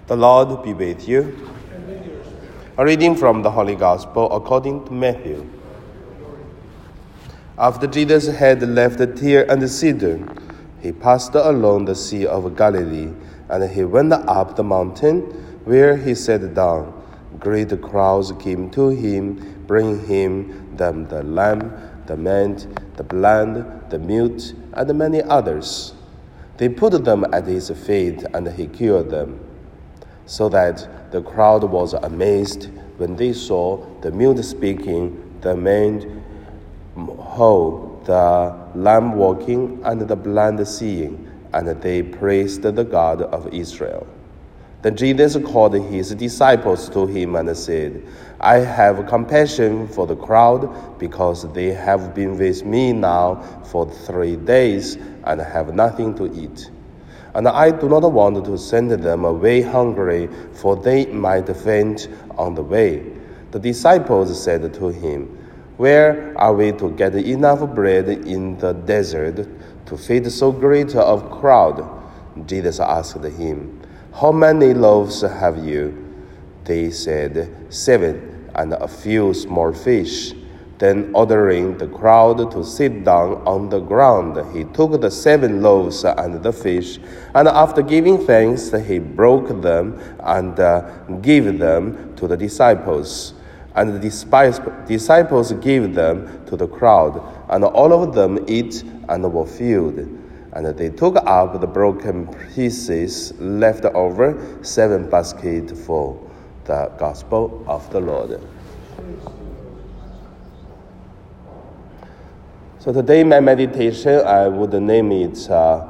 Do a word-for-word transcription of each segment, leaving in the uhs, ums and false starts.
The Lord be with you. A reading from the Holy Gospel according to Matthew. After Jesus had left Tyre and Sidon, he passed along the Sea of Galilee, and he went up the mountain, where he sat down. Great crowds came to him, bringing him them the lamb, the maimed, the blind, the mute, and many others. They put them at his feet, and he cured them. So that the crowd was amazed when they saw the mute speaking, the maimed whole, the lame walking, and the blind seeing, and they praised the God of Israel. Then Jesus called his disciples to him and said, I have compassion for the crowd, because they have been with me now for three days and have nothing to eat. And I do not want to send them away hungry, for they might faint on the way. The disciples said to him, Where are we to get enough bread in the desert to feed so great a crowd? Jesus asked him, How many loaves have you? They said, Seven, and a few small fish. Then, ordering the crowd to sit down on the ground, he took the seven loaves and the fish, and after giving thanks, he broke them and uh, gave them to the disciples. And the disciples gave them to the crowd, and all of them ate and were filled. And they took up the broken pieces left over, seven baskets full. The Gospel of the Lord. So today my meditation, I would name it, uh,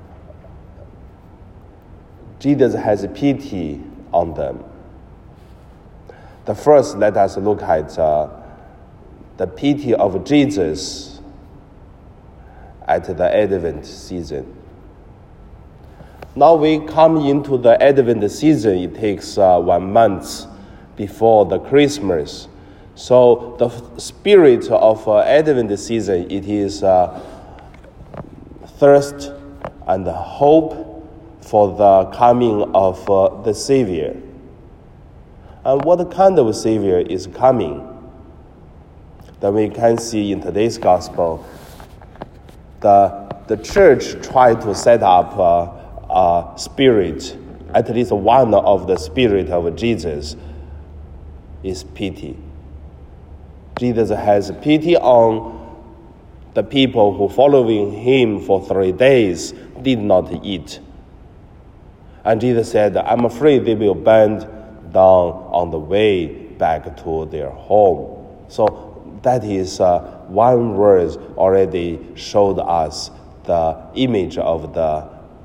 Jesus has pity on them. The first, let us look at uh, the pity of Jesus at the Advent season. Now we come into the Advent season, it takes uh, one month before the Christmas. So the spirit of uh, Advent season, it is uh, thirst and hope for the coming of uh, the Savior. And what kind of Savior is coming? That we can see in today's Gospel, the, the church tried to set up uh, a spirit, at least one of the spirit of Jesus is pity. Jesus has pity on the people who following him for three days did not eat. And Jesus said, I'm afraid they will burn down on the way back to their home. So that is uh, one word already showed us the image of the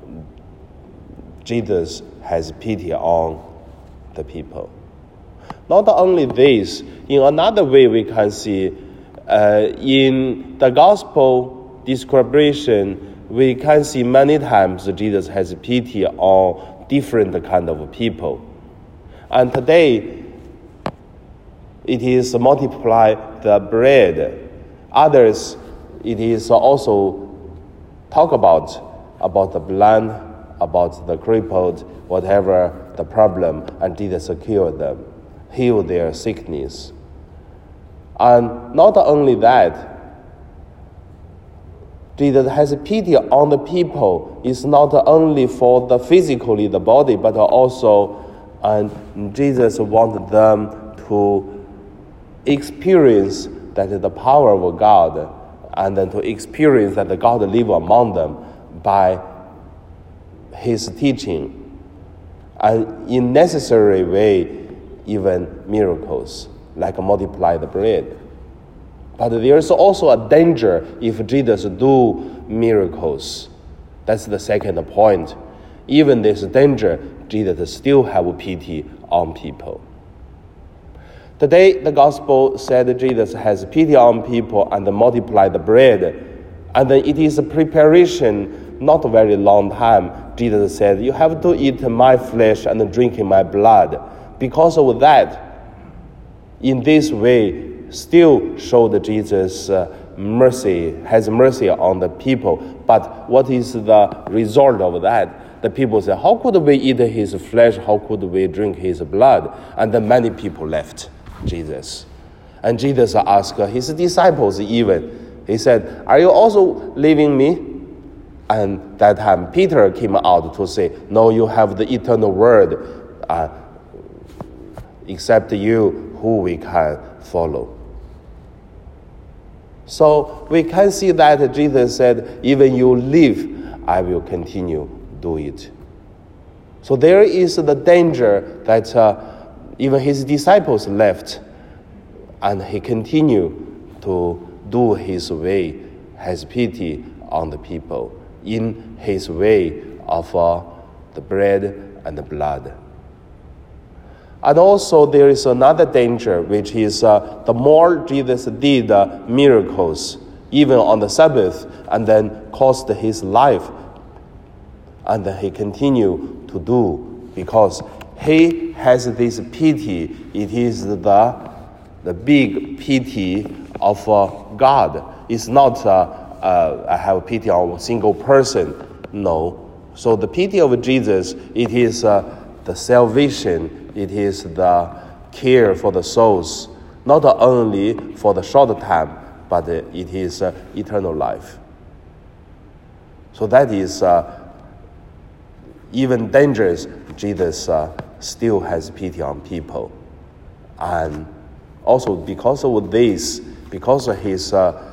Jesus has pity on the people. Not only this, in another way we can see uh, in the gospel description, we can see many times Jesus has pity on different kind of people. And today, it is multiply the bread. Others, it is also talk about, about the blind, about the crippled, whatever the problem, and Jesus cure them, heal their sickness. And not only that, Jesus has pity on the people. It's not only for the physically, the body, but also, and Jesus wanted them to experience that the power of God, and then to experience that the God live among them by his teaching, and in necessary way, even miracles, like multiply the bread. But there is also a danger if Jesus do miracles. That's the second point. Even this danger, Jesus still have pity on people. Today, the gospel said Jesus has pity on people and multiply the bread. And then it is a preparation, not a very long time. Jesus said, you have to eat my flesh and drink my blood. Because of that, in this way, still showed Jesus' uh, mercy, has mercy on the people. But what is the result of that? the people said, how could we eat his flesh? How could we drink his blood? And then many people left Jesus. And Jesus asked his disciples even, he said, are you also leaving me? And that time Peter came out to say, no, you have the eternal word, uh, except you who we can follow. So we can see that Jesus said, even you leave, I will continue do it. So there is the danger that uh, even his disciples left, and he continued to do his way, has pity on the people in his way of uh, the bread and the blood. And also there is another danger, which is uh, the more Jesus did uh, miracles, even on the Sabbath, and then cost his life, and then he continued to do, because he has this pity. It is the, the big pity of uh, God. It's not uh, uh, I have pity on a single person. No. So the pity of Jesus, it is uh, the salvation. It is the care for the souls, not only for the short time, but it is uh, eternal life. So that is uh, even dangerous. Jesus uh, still has pity on people. And also because of this, because of his uh,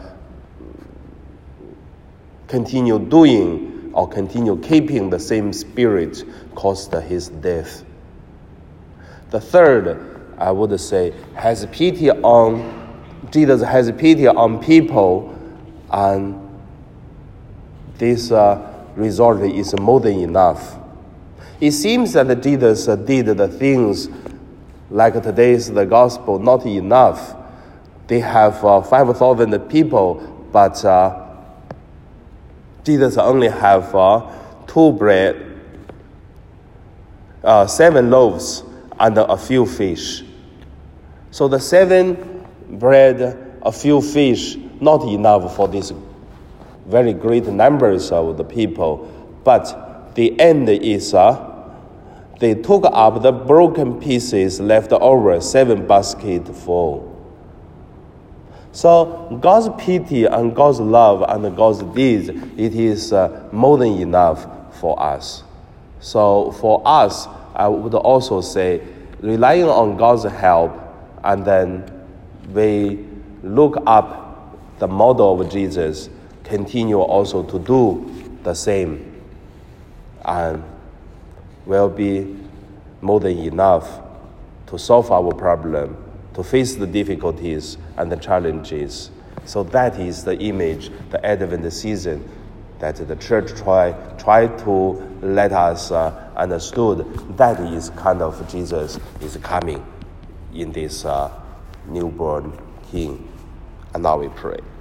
continue doing or continue keeping the same spirit, caused his death. The third, I would say, has pity on, Jesus has pity on people, and this uh, result is more than enough. It seems that Jesus uh, did the things like today's the gospel not enough. They have uh, five thousand people, but uh, Jesus only have uh, two bread, uh, seven loaves, and a few fish. So the seven bread, a few fish, not enough for these very great numbers of the people. But the end is, uh, they took up the broken pieces left over, seven baskets full. So God's pity and God's love and God's deeds, it is uh, more than enough for us. So for us, I would also say, relying on God's help, and then we look up the model of Jesus, continue also to do the same, and will be more than enough to solve our problem, to face the difficulties and the challenges. So that is the image, the Advent season, that the church try try to let us uh, understood. That is kind of Jesus is coming in this uh, newborn King. And now we pray.